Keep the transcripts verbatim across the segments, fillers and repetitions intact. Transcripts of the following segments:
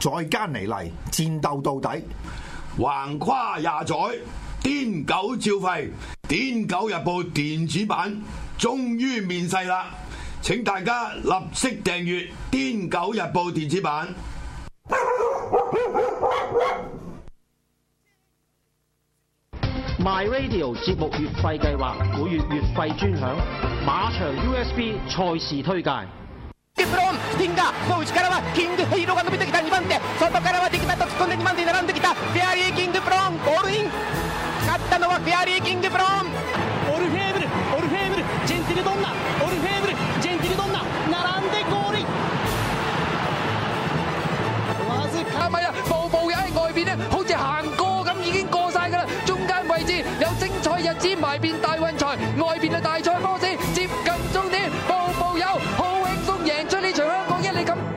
再艱尼嚟，戰鬥到底， 橫跨廿載，癲狗照吠，癲狗日報電子版終於面世啦！請大家立即訂閱癲狗日報電子版。 My Radio 節目月費計劃，每月月費專享馬場 U S B 賽事推介。 ブロンティンガの内からはキングヘイローが伸びてきたにばん手、外からはディキタと突っ込んでにばん手並んできたフェアリーキングブロン、ゴールイン。勝ったのはフェアリーキングブロン。 オルフェーブルオルフェーブルジェンティルドンナ、オルフェーブルジェンティルドンナ並んでゴールイン。 哇塞！係咪啊？步步友喺外邊咧，好似行過咁已經過晒㗎啦。中間位置有精彩日子埋邊大運財，外邊嘅大賽波士接近終點，步步友好輕鬆贏出呢場香港一哩錦。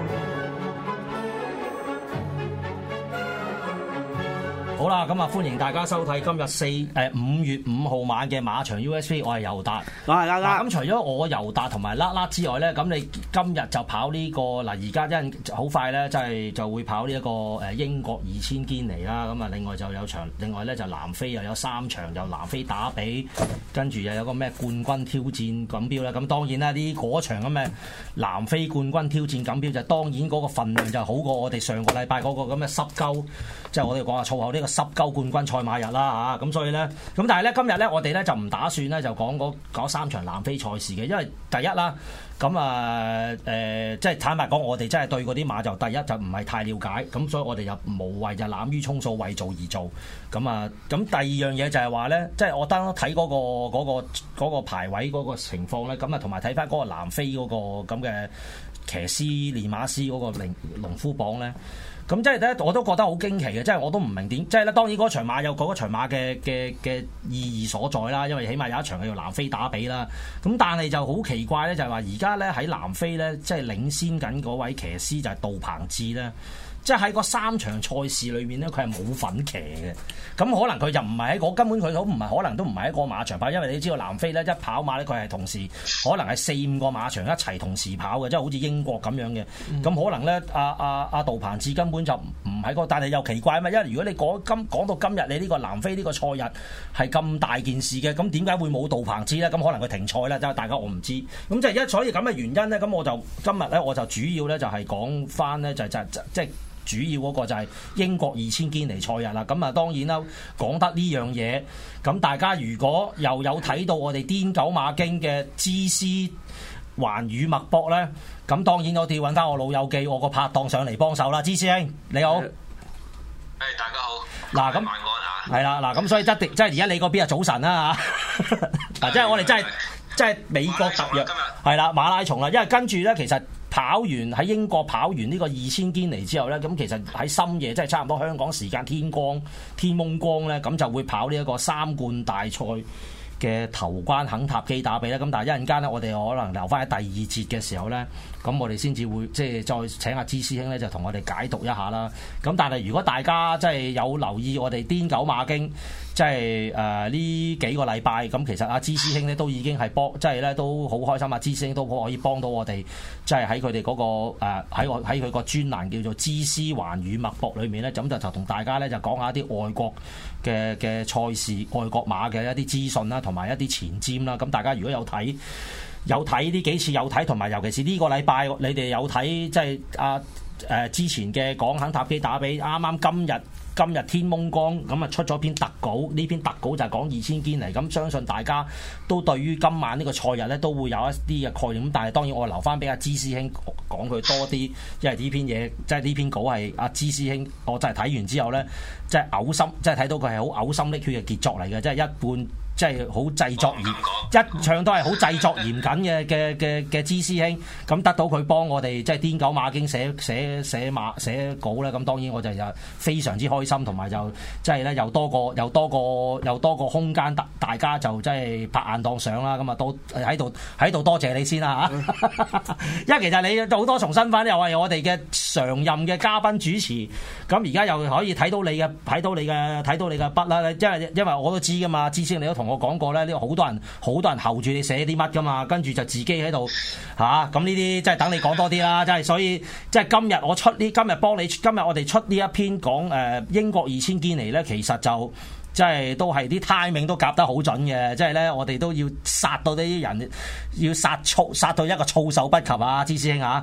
好啦，咁啊歡迎大家收睇今日四誒五月五號晚嘅馬場 U S B， 我係尤達， 我係啦啦。 咁除咗我尤達同埋啦啦之外咧，咁你今日就跑呢、這個嗱，而家因好快咧，即係就會跑呢一個誒英國二千堅尼啦。咁啊，另外就有場，另外咧就南非又有三場，由南非打比，跟住又有個咩冠軍挑戰錦標啦。咁當然啦，呢嗰場咁嘅南非冠軍挑戰錦標就當然嗰個份量就好過我哋上個禮拜嗰個咁嘅濕鳩，即係我哋講下粗口呢個濕鳩冠軍賽馬日啦嚇。咁所以咧，咁但係咧今日咧我哋咧就唔打算咧就講嗰嗰三場南非賽事嘅，因為第一啦。咁啊誒，即係坦白講，我哋真係對嗰啲馬就第一就唔係太了解，咁所以我哋就無謂就濫竽充數，為做而做。咁啊，咁第二樣嘢就係話咧，即係我當睇嗰個嗰個嗰個排位嗰個情況咧，咁啊同埋睇翻嗰個南非嗰個咁嘅騎師練馬師嗰個農農夫榜咧。咁即係咧，我都覺得好驚奇嘅，即係我都唔明點，即係咧當然嗰場馬有嗰場馬嘅嘅嘅意義所在啦，因為起碼有一場係叫南非打比啦。咁但係就好奇怪咧，就係話而家咧喺南非咧，即係領先緊嗰位騎師就係杜鵬志咧。即係喺嗰三場賽事裏面咧，佢係冇份騎嘅。咁可能佢就唔係喺嗰根本佢都唔係，可能都唔係喺個馬場跑，因為你知道南非咧一跑馬咧，佢係同時可能係四五個馬場一齊同時跑嘅，即係好似英國咁樣嘅。咁、嗯、可能咧，阿阿阿杜鵬志根本就唔喺嗰，但係又奇怪啊嘛，因為如果你講今講到今日，你呢個南非呢個賽日係咁大件事嘅，咁點解會冇杜鵬志咧？咁可能佢停賽啦，即係大家我唔知。咁即係一所以咁嘅原因咧，咁我就今日咧我就主要咧就係講翻咧就就即、就、係、是。主要嗰個就係英國二千堅尼賽日啦，咁啊當然啦，講得呢樣嘢，咁大家如果又有睇到我哋癲狗馬經嘅知師環宇脈搏咧，咁當然我哋揾翻我老友記，我個拍檔上嚟幫手啦，知師兄你好，誒、 hey, 大家好， 嗱咁係啦，嗱咁所以一定即係而家你嗰邊係早晨啦嚇，嗱即係我哋真係即係美國特約係啦馬拉松啦，因為跟住咧其實。跑完喺英國跑完呢個二千堅尼之後呢，咁其實喺深夜即係差唔多香港時間天光天蒙光呢，咁就會跑呢一個三冠大賽嘅頭關肯塔基打比啦。咁但係一陣間呢，我哋可能留翻喺第二節嘅時候呢，咁我哋先至會即係再請阿芝師兄呢，就同我哋解讀一下啦。咁但係如果大家即係有留意我哋癲狗馬經，即係誒呢幾個禮拜，咁其實阿芝師兄呢都已經係幫，即係呢都好開心。阿芝師兄都可以幫到我哋，即係喺佢哋嗰個誒喺我喺佢個專欄叫做知師環宇脈搏裏面呢，咁就就同大家呢，就講下一啲外國嘅嘅賽事、外國馬嘅一啲資訊啦，同埋一啲前瞻啦。咁大家如果有睇有睇呢幾次有睇，同埋尤其是呢個禮拜你哋有睇，即係阿誒之前嘅講肯塔基打比，啱啱今日。今日天蒙光咁啊出咗篇特稿，呢篇特稿就係講二千堅尼，咁相信大家都對於今晚呢個賽日咧都會有一啲嘅概念，咁但係當然我留翻俾阿芝師兄講佢多啲，因為呢篇嘢即係呢篇稿係阿芝師兄，我真係睇完之後咧，即係嘔心，即係睇到佢係好嘔心瀝血嘅傑作嚟嘅，即係一半。即係好製作嚴，一唱都係好製作嚴謹嘅嘅嘅嘅芝師兄，咁得到佢幫我哋即係癲狗馬經寫寫寫馬寫稿咧，咁當然我就就非常之開心，同埋就即係咧又多個又多個又多個空間，大大家就即係拍硬檔相啦，咁啊都喺度喺度多謝你先啦嚇，因為其實你好多重身份，又係我哋嘅常任嘅嘉賓主持，咁而家又可以睇到你嘅睇到你嘅睇到你嘅筆啦，因為因為我都知噶嘛，芝師兄你都同我講過咧，呢個好多人好多人候住你寫啲乜噶嘛，跟住就自己喺度嚇，咁呢啲即係等你講多啲啦，即係所以即係今日我出呢，今日幫你，今日我哋出呢一篇講誒、呃、英國二千堅尼咧，其實就即係都係啲 timing 都夾得好準嘅，即係咧我哋都要殺到呢啲人，要殺措殺到一個措手不及啊，芝師兄啊！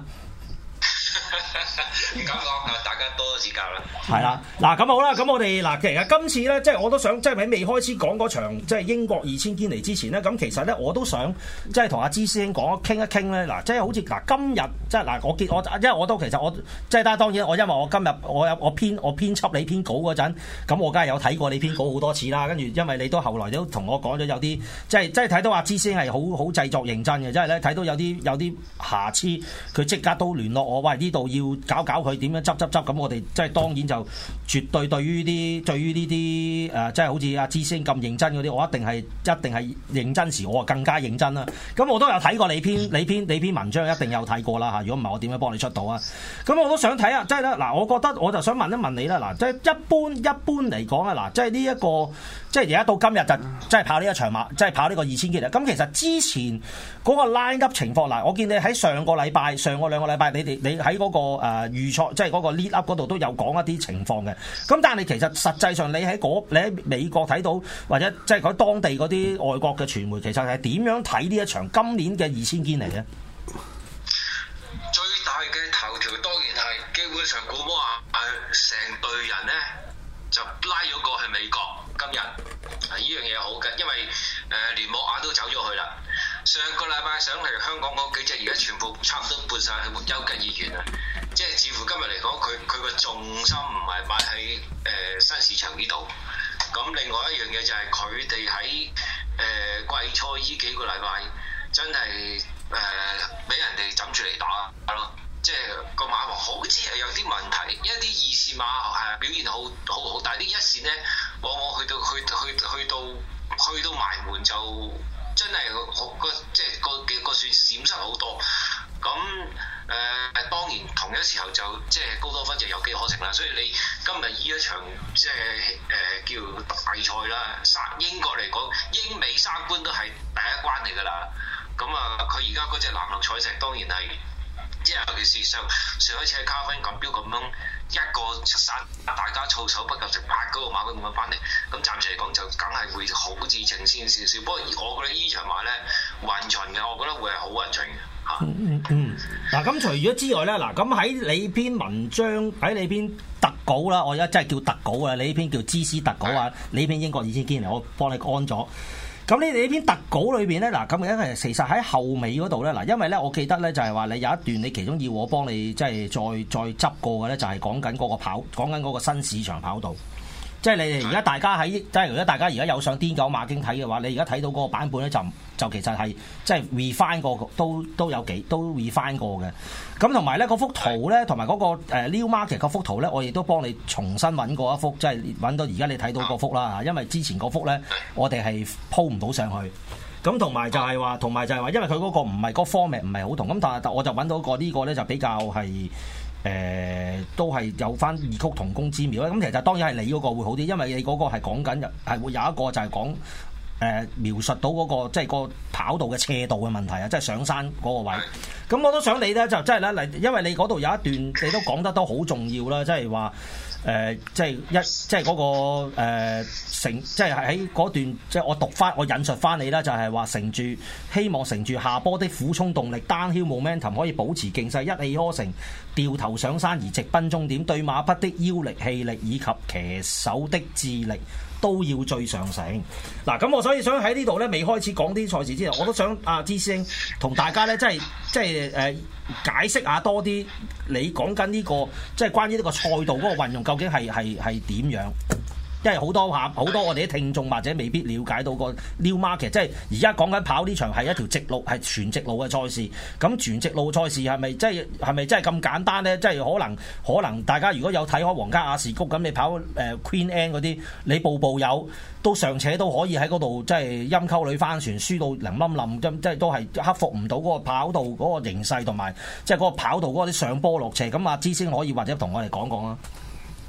咁講啊，大家多多指教啦。 係啦，嗱咁好啦，咁我哋嗱其實今次咧，即係我都想即係喺未開始講嗰場即係英國二千堅尼之前咧，咁其實咧我都想即係同阿芝師兄講傾一傾咧，嗱即係好似嗱今日即係嗱我見我因為我都其實我即係但係當然我因為我今日我有我編我編輯你篇稿嗰陣，咁我梗係有睇過你篇稿好多次啦，跟住因為你都後來都同我講咗有啲即係即係睇到阿芝師兄係好好製作認真嘅，即係咧睇到有啲有啲瑕疵，佢即刻都聯絡我，喂呢度要搞搞佢點樣執執執，咁我哋即係當然就絕對對於啲對於呢啲誒即係好似阿芝師兄咁認真嗰啲，我一定係一定係認真時，我啊更加認真啦。咁我都有睇過你篇你篇你篇文章，一定有睇過啦嚇。如果唔係我點樣幫你出到啊？咁我都想睇下，即係咧嗱，我覺得我就想問一問你啦嗱，即係一般一般嚟講啊嗱，即係呢一個即係而家到今日就即係跑呢一場馬，即係跑呢個二千堅尼。咁其實之前嗰個 line up 情況嗱，我見你喺上個禮拜上個兩個禮拜，你哋你喺嗰個誒預賽即係嗰個 lead up 嗰度都有講一啲情況嘅。咁但係其實實際上你喺嗰你喺美國睇到或者即係喺當地嗰啲外國嘅傳媒，其實係點樣睇呢一場今年嘅二千堅尼咧？ 最大嘅頭條當然係基本上古摩亞成隊人咧就拉咗過去美國。今日啊呢樣嘢好嘅，因為誒連莫亞都走咗去啦。上個禮拜上嚟香港嗰幾隻而家全部差唔多搬晒去休吉醫院啊！即係似乎今日嚟講，佢佢個重心唔係擺喺誒新市場呢度。咁另外一樣嘢就係佢哋喺誒季賽呢幾個禮拜真係誒俾人哋枕住嚟打咯。即係個馬王好似係有啲問題，一啲二線馬係表現好好好，但係啲一線咧往往去到去去去到去到埋門就真係好個即係個幾個算閃失好多。咁誒、呃、當然同一時候就即係高多芬就有機可乘啦。所以你今日呢一場即係誒、呃、叫大賽啦，三英國嚟講，英美三關都係第一關嚟㗎啦。咁啊，佢而家嗰隻藍綠彩石當然係。即係尤其是上上一次喺卡芬錦標咁樣一個殺大家措手不及，就八嗰個馬咁樣翻嚟，咁暫時嚟講就梗係會好似情先少少。不過我覺得呢場馬咧勻循嘅，我覺得會係好勻循嘅嚇。嗯嗯嗱咁、嗯、除咗之外咧，嗱咁喺你篇文章喺你篇特稿啦，我而家真係叫特稿啊！你呢篇叫芝師特稿啊，的你呢篇英國二千堅尼我幫你安咗。咁你哋呢篇特稿裏邊咧，嗱咁因為其實喺後尾嗰度咧，嗱因為咧我記得咧就係話你有一段你其中要我幫你即係再再執過嘅咧，就係講緊嗰個跑講緊嗰個新市場跑道。即係你哋而家大家喺即係如果大家而家有上癲狗馬經睇嘅話，你而家睇到嗰個版本咧就就其實係即係 refine 過都都有幾都 refine 過嘅。咁同埋咧嗰幅圖咧，同埋嗰個誒 New Market 嗰幅圖咧，我亦都幫你重新揾過一幅，即係揾到而家你睇到嗰幅啦。因為之前嗰幅咧，我哋係鋪唔到上去。咁同埋就係話，同埋就係話，因為佢嗰個唔係嗰個 format 唔係好同。咁但係我就揾到個呢個咧就比較係。誒、呃、都係有翻異曲同工之妙咧，咁其實當然係你嗰個會好啲，因為你嗰個係講緊係會有一個就係講誒描述到嗰、那個即係、就是、個跑道嘅斜度嘅問題啊，即係上山嗰個位。咁我都想你咧就即係咧嚟，因為你嗰度有一段你都講得都好重要啦，即係話誒即係一即係嗰個誒乘即係喺嗰段即係我讀翻我引述翻你啦，就係話乘住希望乘住下坡的苦衝動力 downhill momentum 可以保持勁勢，一氣呵成掉頭上山而直奔終點，對馬匹的腰力氣力以及騎手的智力都要最上乘。嗱咁我所以想喺呢度咧未開始講啲賽事之前，我都想阿芝師兄同大家咧即係即係誒解釋下多啲你講緊呢個即係關於呢個賽道嗰個運用究竟係係係點樣？因為好多下好多我哋啲聽眾或者未必了解到個 New Market， 即係而家講緊跑呢場係一條直路係全直路嘅賽事。咁全直路賽事係咪即係係咪真係咁簡單咧？即係可能可能大家如果有睇開皇家亞士谷咁，你跑誒 Queen Anne 嗰啲，你步步有都尚且都可以喺嗰度即係陰溝裏翻船，輸到零冧冧，即係都係克服唔到嗰個跑道嗰個形勢同埋即係嗰個跑道嗰啲上坡落斜。咁阿芝先可以或者同我哋講講啦。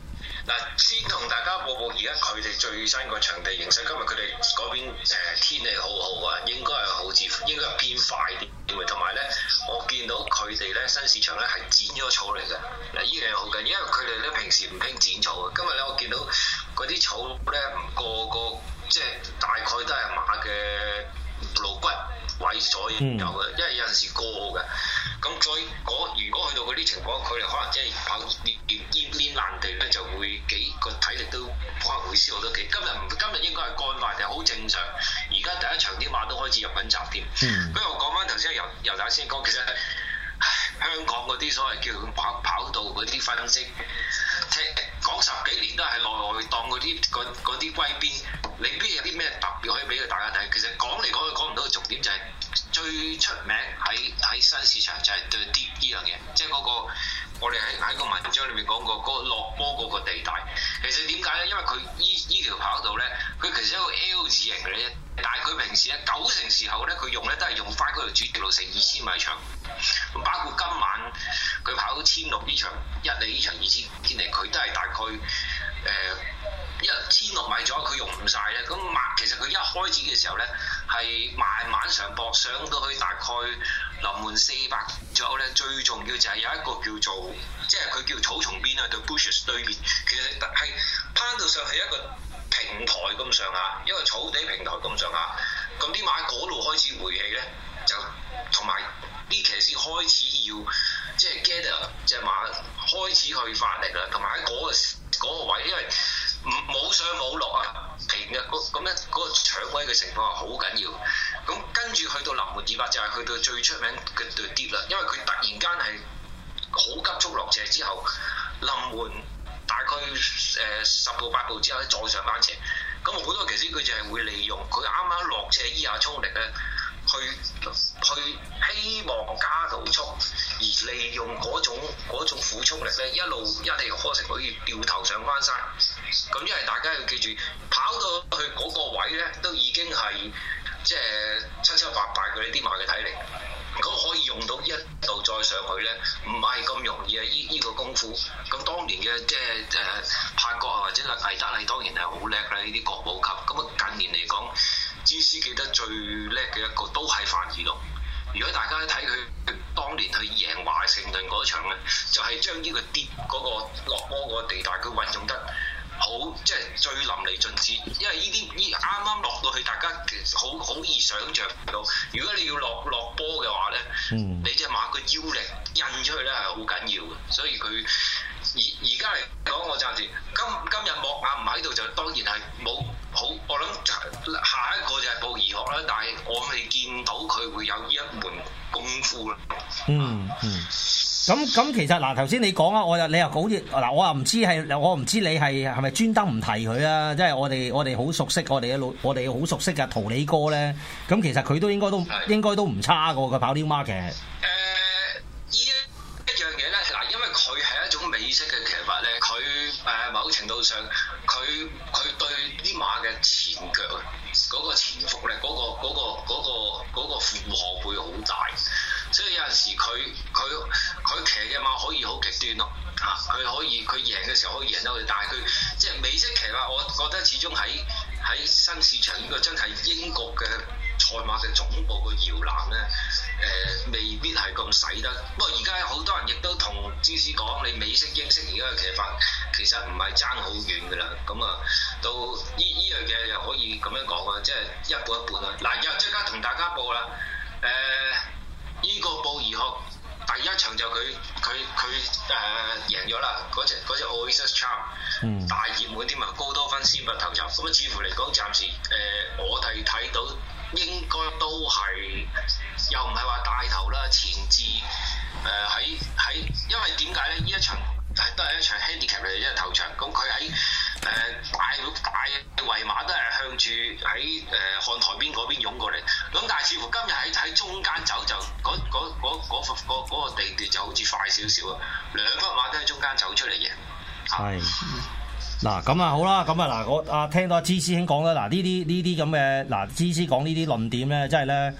嗱，先同大家報報而家佢哋最新個場地形勢。今日佢哋嗰邊、呃、天氣好好啊，應該係好似應該係偏快啲。同埋咧，我見到佢哋咧新市場咧係剪咗草嚟嘅。嗱，呢樣嘢好緊要，因為佢哋咧平時唔興剪草嘅。今日咧我見到嗰啲草咧個個即係大概都係馬嘅顱骨位左右嘅，嗯、因為有陣時過嘅。咁再如果去到嗰啲情況，佢哋可能即係跑練練練爛地咧，就會幾個體力都可能會消耗得幾。今日唔今日應該係乾快定好正常。而家第一場啲馬都開始入緊閘添。嗯。不過我講翻頭先由由大先講，其實唉香港嗰啲所謂叫跑跑道嗰啲分析，聽講十幾年都係內外檔嗰啲嗰啲歸邊，你邊有啲咩特別可以俾佢大家睇？其實講嚟講去講唔到嘅重點就係、是。最出名喺喺新市場就係對 deep 呢樣嘢，即係嗰、那個我哋喺喺個文章裏面講過嗰、那個落波嗰個地帶。其實點解咧？因為佢依依條跑道咧，佢其實係一個 L 字形嘅啫。但係佢平時咧九成時候咧，佢用咧都係用翻嗰條主鐵路成二千米長。包括今晚佢跑千六呢場一里呢場二千堅尼，佢都係大概誒。呃一千六米左右，佢用唔晒咧。咁馬其實佢一開始嘅時候咧，係慢慢上坡，上到去大概臨門四百左右咧。最重要就係有一個叫做，即係佢叫草叢邊啊，對 bushes 對面，其實係攀到上去一個平台咁上下，一個草地平台咁上下。咁啲馬嗰度開始回氣咧，就同埋啲騎士開始要即係 gather 隻馬開始去發力啦，同埋喺嗰個嗰個位，因為冇上冇落啊，平嘅咁咧，嗰、嗰個搶位嘅情況係好緊要。咁跟住去到臨門二百就係去到最出名嘅對跌啦，因為佢突然間係好急速落斜之後，臨門大概誒十步八步之後咧再上翻斜。咁好多騎師佢就係會利用佢啱啱落斜依下衝力咧，去去希望加到速，而利用嗰種嗰種苦衝力咧，一路一嚟開成可以掉頭上翻山。咁因為大家要記住，跑到去嗰個位咧，都已經係即係七七八八嘅呢啲馬嘅體力。咁可以用到一度再上去咧，唔係咁容易啊！依依個功夫，咁當年嘅即係誒柏國啊或者係魏德禮當然係好叻啦，呢啲國寶級。咁啊近年嚟講，芝斯記得最叻嘅一個都係范爾龍。如果大家睇佢當年去贏華盛頓嗰場咧，就係、是、將呢個跌嗰、那個落波嗰個地帶，佢運用得好，即係最淋漓盡致。因為呢啲呢啱啱落到去，大家好好易想像到。如果你要落落波嘅話咧，嗯、你隻馬個腰力印出去咧係好緊要嘅。所以佢而而家嚟講，我暫時今今日莫亞唔喺度，就當然係冇好。我諗下一個就係布宜諾啦，但係我未見到佢會有呢一門功夫啦。 嗯嗯。咁咁其實嗱，頭先你講啊，我又你又好似嗱，我又唔知係我唔知你係係咪專登唔提佢啊？即係我哋我哋好熟悉我哋嘅老我哋好熟悉嘅圖里哥咧。咁其實佢都應該都的應該都唔差過佢跑 Newmarket。誒， 呢一一樣嘢咧，嗱，因為佢係一種美式嘅騎法咧，佢誒某程度上佢佢對啲馬嘅前腳嗰個前腹咧，嗰個嗰個嗰個嗰個負荷會好大。所以有陣時佢佢佢騎嘅馬可以好極端咯嚇，佢可以佢贏嘅時候可以贏得佢，但係佢即係美式騎法，我覺得始終喺喺新市場呢個真係英國嘅賽馬嘅總部嘅搖籃咧，誒、呃、未必係咁使得。不過而家好多人亦都同芝士講，你美式英式而家嘅騎法其實唔係爭好遠㗎啦。咁啊，到呢依樣嘢又可以咁樣講啊，即係一半一半啦。嗱，又即刻同大家報啦，誒、呃。呢個布宜諾第一場就佢佢佢誒贏咗啦，嗰隻嗰隻 Oasis Charm、嗯、大熱門添啊，高多分先拔頭籌。咁啊，似乎嚟講暫時誒、呃、我哋睇到應該都係又唔係話帶頭啦，前置誒喺喺，因為點解咧？呢一場都係一場 handicap 嚟嘅，因為頭場，咁佢喺誒大大圍馬都係向住喺誒看台邊嗰邊湧過嚟，咁但係似乎今日喺喺中間走就嗰嗰嗰嗰嗰嗰個地段就好似快少少啊，兩匹馬都喺中間走出嚟嘅。 係嗱咁啊好啦，咁啊嗱我啊聽到阿芝師兄講啦，嗱呢啲呢啲咁嘅嗱芝師講呢啲論點咧，即係咧。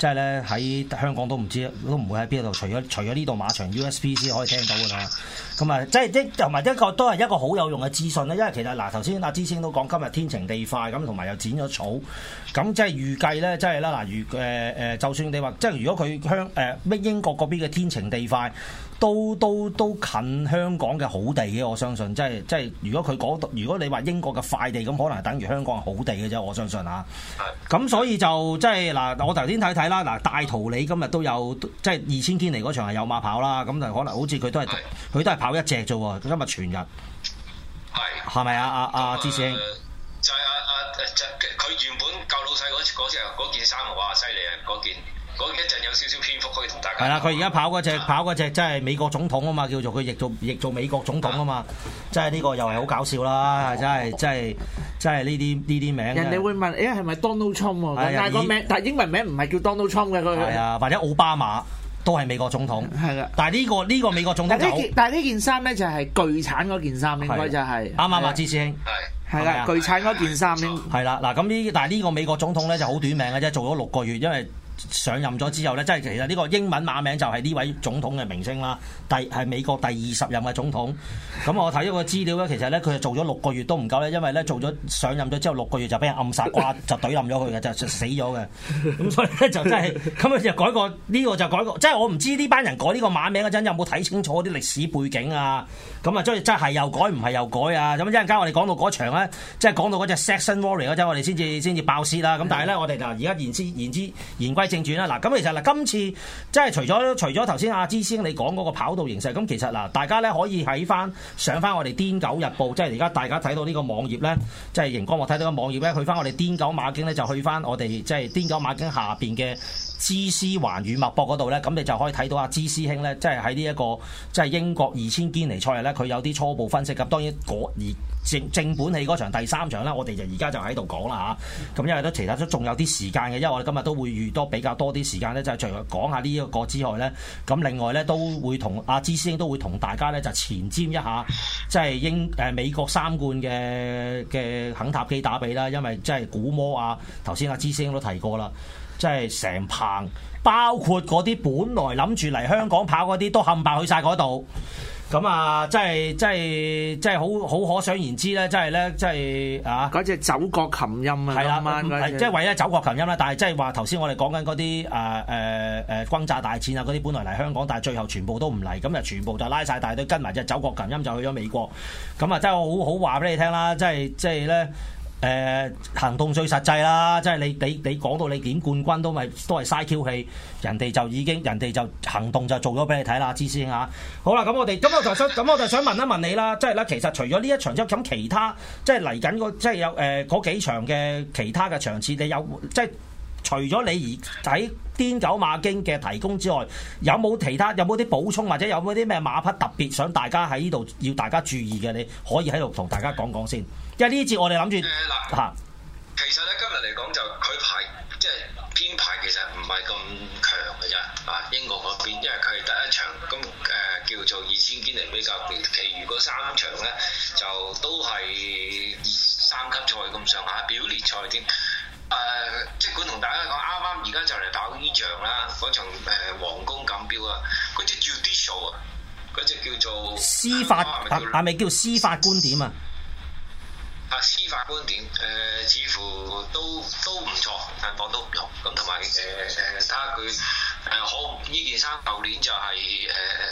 即係咧喺香港都唔知都唔會喺邊度，除咗除咗呢度馬場 U S B 先可以聽到㗎啦。咁啊，即係即同埋一個都係一個好有用嘅資訊咧，因為其實嗱頭先阿芝先都講今日天晴地快咁，同埋又剪咗草，咁即係預計咧，即係啦嗱，如誒誒，就算你話即係如果佢香誒咩英國嗰邊嘅天晴地快。都都都近香港嘅好地嘅，我相信，即係即係如果佢講，如果你話英國嘅快地，咁可能係等於香港嘅好地嘅啫，我相信嚇。咁所以就即係嗱，我頭先睇睇啦，嗱大圖你今日都有，即係二千堅尼嗰場係有馬跑啦，咁就可能好似佢都係佢都係跑一隻啫喎，今日全日。係。係咪啊？阿阿芝師兄。 就係阿阿就佢原本舊老細嗰嗰隻嗰件衫，哇犀利啊！嗰件。嗰一陣有少少篇幅可以同大家。係啦， 佢而家跑嗰隻跑嗰隻，即係美國總統啊嘛，叫做佢譯做譯做美國總統啊嘛，即係呢個又係好搞笑啦，真係真係真係呢啲呢啲名。 人哋會問，誒係咪 Donald Trump 喎？但係個名，但係英文名唔係叫 Donald Trump 嘅佢。係啊，或者奧巴馬都係美國總統。係啦，但係呢個呢個美國總統就。 但係呢件衫咧就係巨產嗰件衫，應該就係。啱啱啊，芝師兄。 係。係啦，巨產嗰件衫應。 係啦，嗱咁呢，但係呢個美國總統咧就好短命嘅啫，做咗六個月，因為。上任咗之後咧，即係其實呢個英文馬名就係呢位總統嘅名稱啦，第係美國第二十任嘅總統。咁我睇咗個資料咧，其實咧佢係做咗六個月都唔夠咧，因為咧做咗上任咗之後六個月就俾人暗殺瓜，就懟冧咗佢嘅，就死咗嘅。咁所以咧就真係咁佢就改個呢、這個就改個，即係我唔知呢班人改呢個馬名嗰陣有冇睇清楚啲歷史背景啊？咁啊，即係真係又改唔係又改啊？咁一陣間我哋講到嗰場咧，即係講到嗰隻 Saxon Warrior 嗰陣，我哋先至先至爆泄啦。咁但係咧，我哋就而家言之言之言歸正傳啦。嗱，咁其實嗱，今次即係除咗除咗頭先阿芝師兄你講嗰個跑道形勢，咁其實嗱，大家咧可以喺翻上翻我哋癲狗日報，即係而家大家睇到呢個網頁咧，即係熒光幕睇到個網頁咧，去翻我哋癲狗馬經咧，就去翻我哋即係癲狗馬經下邊嘅芝師環宇脈搏嗰度咧，咁你就可以睇到阿芝師兄咧，即係喺呢一個即係英國二千堅尼賽日咧，佢有啲初步分析。咁當然嗰而正正本戲嗰場第三場咧，我哋就而家就喺度講啦嚇。咁因為都其實都仲有啲時間嘅，因為我哋今日都會預多比較多啲時間咧，就係除咗講下呢一個之外咧，咁另外咧都會同阿芝師兄都會同大家咧就前瞻一下，即係英誒美國三冠嘅嘅肯塔基打比啦，因為即係古魔啊，頭先阿芝師兄都提過啦。即係成棚，包括嗰啲本來諗住嚟香港跑嗰啲，都冚唪去晒嗰度。咁啊，即係即係即係好好可想而知咧，即係咧，即係啊！ 嗰隻走國琴音啊， 係啦， 係即係為咗走國琴音啦。但係即係話頭先我哋講緊嗰啲誒誒誒轟炸大戰啊，嗰啲本來嚟香港，但係最後全部都唔嚟，咁就全部就拉晒大隊跟埋隻走國琴音就去咗美國。咁啊，真係好好話俾你聽啦，即係即係咧。誒、呃、行動最實際啦，即係你你你講到你點冠軍都咪都係嘥 Q 氣，人哋就已經人哋就行動就做咗俾你睇啦，知先嚇。好啦，咁我哋咁我就想咁我就想問一問你啦，即係咧其實除咗呢一場之後，咁其他即係嚟緊嗰即係有誒嗰、呃、幾場嘅其他嘅場次，你有即係除咗你而喺癲狗馬經嘅提供之外，有冇其他有冇啲補充或者有冇啲咩馬匹特別想大家喺呢度要大家注意嘅？你可以喺度同大家講講先。因為呢節我哋諗住嗱，其實咧今日嚟講就佢排即係編排其實唔係咁強嘅啫，啊英國嗰邊，因為佢係第一場咁誒、呃、叫做二千堅尼比較，其餘嗰三場咧就都係三級賽咁上下，表列賽添。誒、呃，即管同大家講，啱啱而家就嚟跑呢場啦，嗰場誒皇宮錦標啊，嗰隻 judicial 啊，嗰隻叫做司法係咪叫司法觀點啊？ 啊，司法觀點，誒、呃、似乎都都唔錯，但況都唔錯。咁同埋誒誒，睇下佢誒好呢件衫，舊年就係誒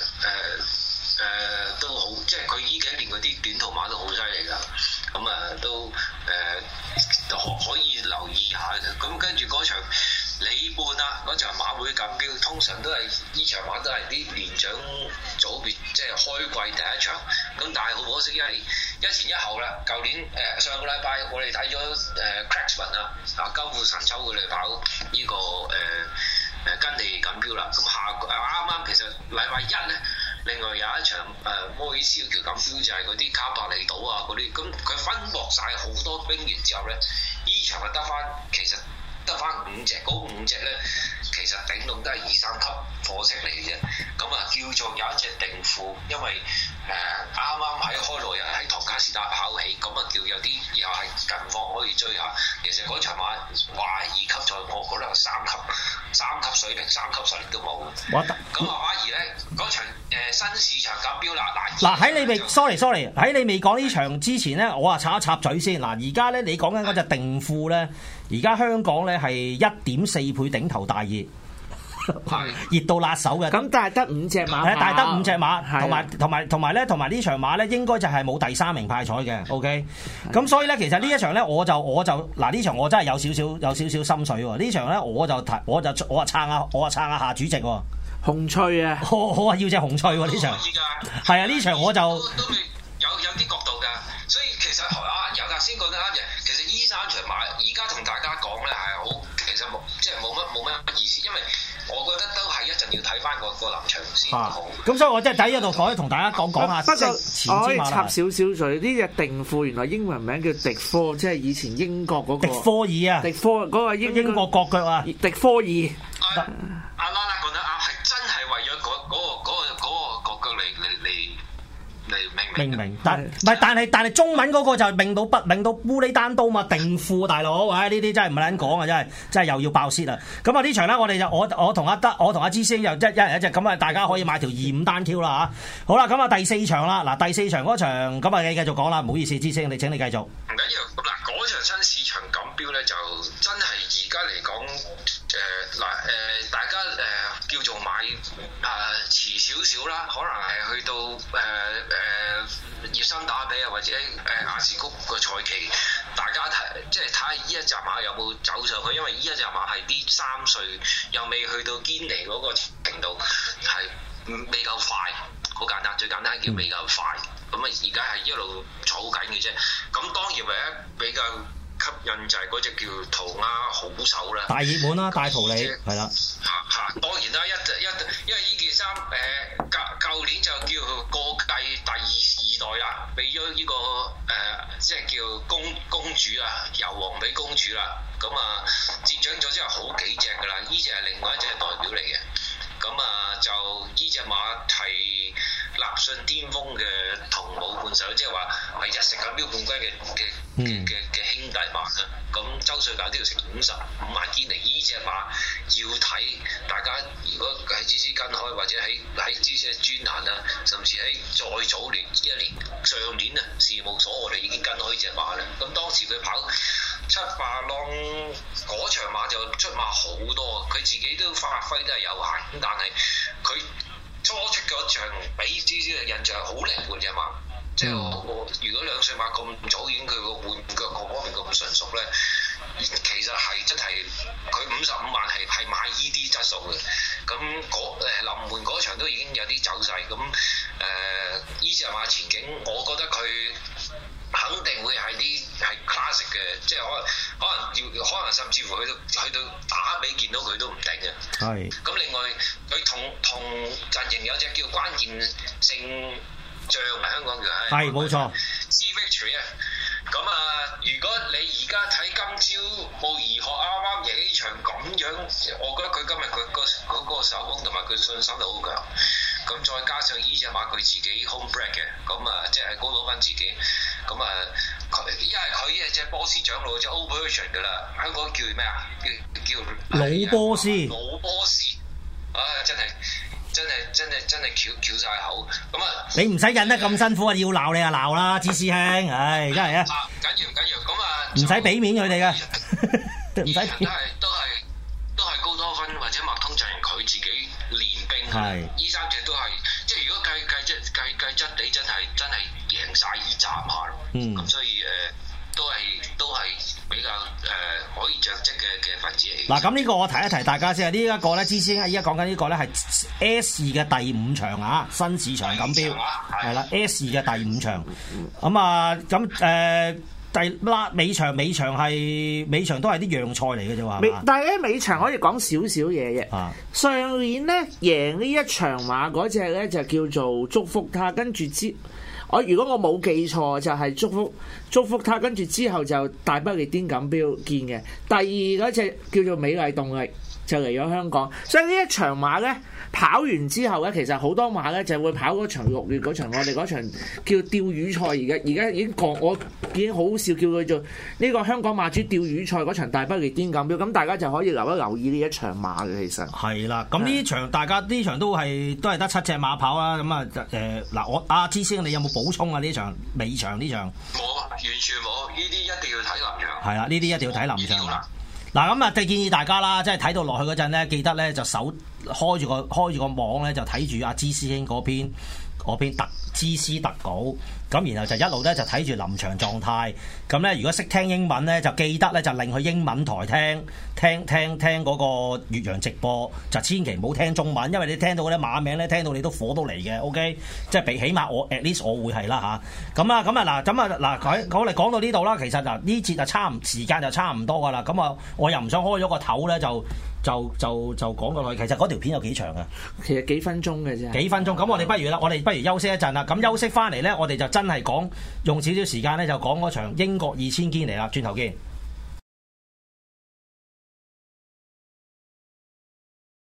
誒誒都好，即係佢呢幾年嗰啲短途馬都好犀利㗎。咁、嗯、啊都誒、呃、可可以留意下嘅。咁跟住嗰場里半啊，嗰場馬會錦標，通常都係呢場馬都係啲年長組別，即係開季第一場。咁但係好可惜，因為一前一後啦。舊年誒、呃、上個禮拜我哋睇咗誒 Cracksman 啊，啊交付神州佢哋跑呢、這個誒誒跟地錦標啦。咁下誒啱啱其實禮拜一咧，另外有一場誒、呃、摩爾斯橋錦標就係嗰啲卡伯利島啊嗰啲，咁佢分薄晒好多兵員之後咧，呢場係得翻其實。得翻五隻，嗰五隻咧，其實頂籠都係二三級貨色嚟嘅啫。咁啊，叫做有一隻定庫，因為誒啱啱喺開羅日喺唐卡士是但跑起，咁啊叫有啲又係近況可以追下。其實嗰場馬話二級賽，我覺得係三級三級水平，三級實力都冇。咁啊反而咧嗰場、呃、新市場錦標啦，嗱嗱喺你未 sorry sorry 喺你未講呢場之前咧，我啊插一插嘴先。嗱而家咧你講緊嗰隻定富咧，而家香港咧係一點四倍頂頭大熱。熱到辣手嘅， 咁但係得五隻馬， 係但係得五隻馬，同埋同埋同埋咧，同埋呢場馬咧，應該就係冇第三名派彩嘅 ，OK。咁所以咧，其實呢一場咧，我就我就嗱呢場我真係有少少有少少心水喎。呢場咧，我就睇我就我啊撐下我啊撐下夏主席喎， 紅翠啊， 我我啊要隻紅翠喎呢場，係啊呢場我就都未有有啲角度㗎，所以其實啊有頭先講得啱嘅，其實依三場馬而家同大家講咧係好，其實冇即係冇乜冇乜意思，因為。我覺得都係一陣要睇翻個個臨場先好。咁、 啊、所以我即係喺呢度可以同大家講講下。 不過我可以插少少水，呢隻定富原來英文名叫迪科，即係以前英國嗰、嗰個。迪科爾啊！迪科嗰、嗰個英英國國腳啊！ 迪科爾。 阿阿拉拉講得啱，係真係為咗嗰嗰個嗰、嗰個嗰個國腳嚟嚟嚟。明明明，但唔係，但係但係中文嗰個就明到不明到烏里單刀嘛，定富大佬，唉呢啲真係唔係撚講啊，真係真係又要爆泄啦！咁啊呢場咧，我哋就我我同阿德，我同阿芝師兄又一一人一隻，咁啊大家可以買條二五單挑啦嚇。好啦，咁啊第四場啦，嗱第四場嗰場，咁啊你繼續講啦，唔好意思，芝師兄你請你繼續。 唔緊要，嗱嗰場新市場錦標咧，就真係而家嚟講，誒嗱誒大家誒、呃、叫做買啊遲少少啦，可能係去到誒誒。呃呃誒熱身打比啊，或者誒亞視谷個賽期，大家睇即係睇下呢一隻馬有冇走上去，因為呢一隻馬係啲三歲又未去到堅尼嗰個程度，係未夠快，好簡單，最簡單叫未夠快。咁啊，而家係一路儲緊嘅啫。咁當然唯一比較吸引就係嗰隻叫塗鴉好手啦， 大熱門啦，大圖理係啦。 嚇嚇，當然啦，一一因為呢件衫誒舊舊年就叫過繼第二二代啦，俾咗呢個誒、呃、即係叫公公主啊，由王俾公主啦。咁啊接掌咗之後好幾隻㗎啦，呢隻係另外一隻代表嚟嘅。咁啊就呢隻馬係立信巔峰嘅同母伴手，即係話係日食錦標冠軍嘅嘅嘅嘅嘅兄弟馬啦。咁周歲價都要成五十五萬堅尼，呢隻馬要睇大家如果喺知識跟開，或者喺喺知識專欄啊，甚至喺再早年一年上年啊事務所，我哋已經跟開呢隻馬啦。咁當時佢跑七八浪嗰場馬就出馬好多，佢自己都發揮都係有限，咁但係佢初出嗰場俾知識嘅印象係好靈活嘅馬。即係我，我如果兩歲馬咁早已經佢個換腳各方面咁純熟咧，其實係真係佢五十五萬係係買依啲質素嘅。咁嗰誒臨門嗰場都已經有啲走勢。咁誒依隻馬前景，我覺得佢肯定會係啲係 classic 嘅，即係可能可能要可能甚至乎去到去到打比見到佢都唔定嘅。係。咁另外佢同同陣營有隻叫關鍵性將啊，香港叫係，係冇錯。C-Victory 啊，咁啊，如果你而家睇今朝慕兒學啱啱贏呢場咁樣，我覺得佢今日佢個嗰個手工同埋佢信心都好強。咁再加上呢隻馬佢自己 home bred 嘅，咁啊即係高佬翻自己，咁啊佢因為佢係隻波斯長老隻 Old Version 噶啦，香港叫咩啊？叫叫老波斯。 老波斯，啊真係。真係真係真係翹翹曬口，咁啊！ 你唔使忍得咁辛苦啊！要鬧你啊鬧啦，芝師兄，唉，真係啊！ 緊要唔緊要？咁啊， 唔使俾面佢哋嘅，唔使。 都係都係都係高多芬或者麥通陣營佢自己練兵，係呢三隻都係，即係如果計計質計計質地真係真係贏曬呢站下咯。嗯，咁所以誒、呃、都係都係。比較誒、呃、可以着跡嘅嘅分子嚟。嗱， 咁呢個我提一提大家先啊，呢、這、一個咧，之前依家講緊呢個咧係 S 二嘅第五場啊，新市場錦標係啦 ，S 二嘅第五場。咁啊，咁誒、呃、第拉尾場尾場係尾場都係啲讓賽嚟嘅啫喎。 但係咧尾場可以講少少嘢嘅。啊、上年咧贏呢一場馬嗰隻咧就叫做祝福他，跟住之。我如果我冇記錯，就係、是、祝福祝福他，跟住之後就大不列顛錦標見嘅。第二嗰隻叫做美麗動力， 就嚟咗香港，所以呢一場馬咧跑完之後咧，其實好多馬咧就會跑嗰場六月嗰場我哋嗰場叫釣魚賽，而家而家已經講我已經好笑叫佢做呢個香港馬主釣魚賽嗰場大不列顛錦標，咁大家就可以留一留意呢一場馬嘅其實。 係啦，咁呢場大家呢場都係都係得七隻馬跑啦，咁啊誒嗱我阿芝師兄你有冇補充啊？呢場尾場呢場？ 冇，完全冇，呢啲一定要睇臨場。 係啦，呢啲一定要睇臨場啦。嗱咁啊，建議大家啦，即係睇到落去嗰陣咧，記得咧就手開住個開住個網咧，就睇住阿芝師兄嗰篇嗰篇特芝師特稿，咁然後就一路咧就睇住臨場狀態。咁咧如果識聽英文咧，就記得咧就令去英文台聽聽聽聽嗰個越洋直播，就千祈唔好聽中文，因為你聽到嗰啲馬名咧，聽到你都火到嚟嘅。OK， 即係比起碼我 at least 我會係啦吓，咁啊咁啊嗱，咁啊嗱，我哋講到呢度啦，其實嗱呢節就差唔時間就差唔多噶啦。咁啊，我又唔想開咗個頭咧，就就就就講過去。其實嗰條片有幾長啊？ 其實幾分鐘嘅啫。 幾分鐘，咁我哋不如啦，我哋不如休息一陣啦。咁休息翻嚟咧，我哋就真係講用少少時間咧，就講嗰場英國二千堅尼啦。轉頭見。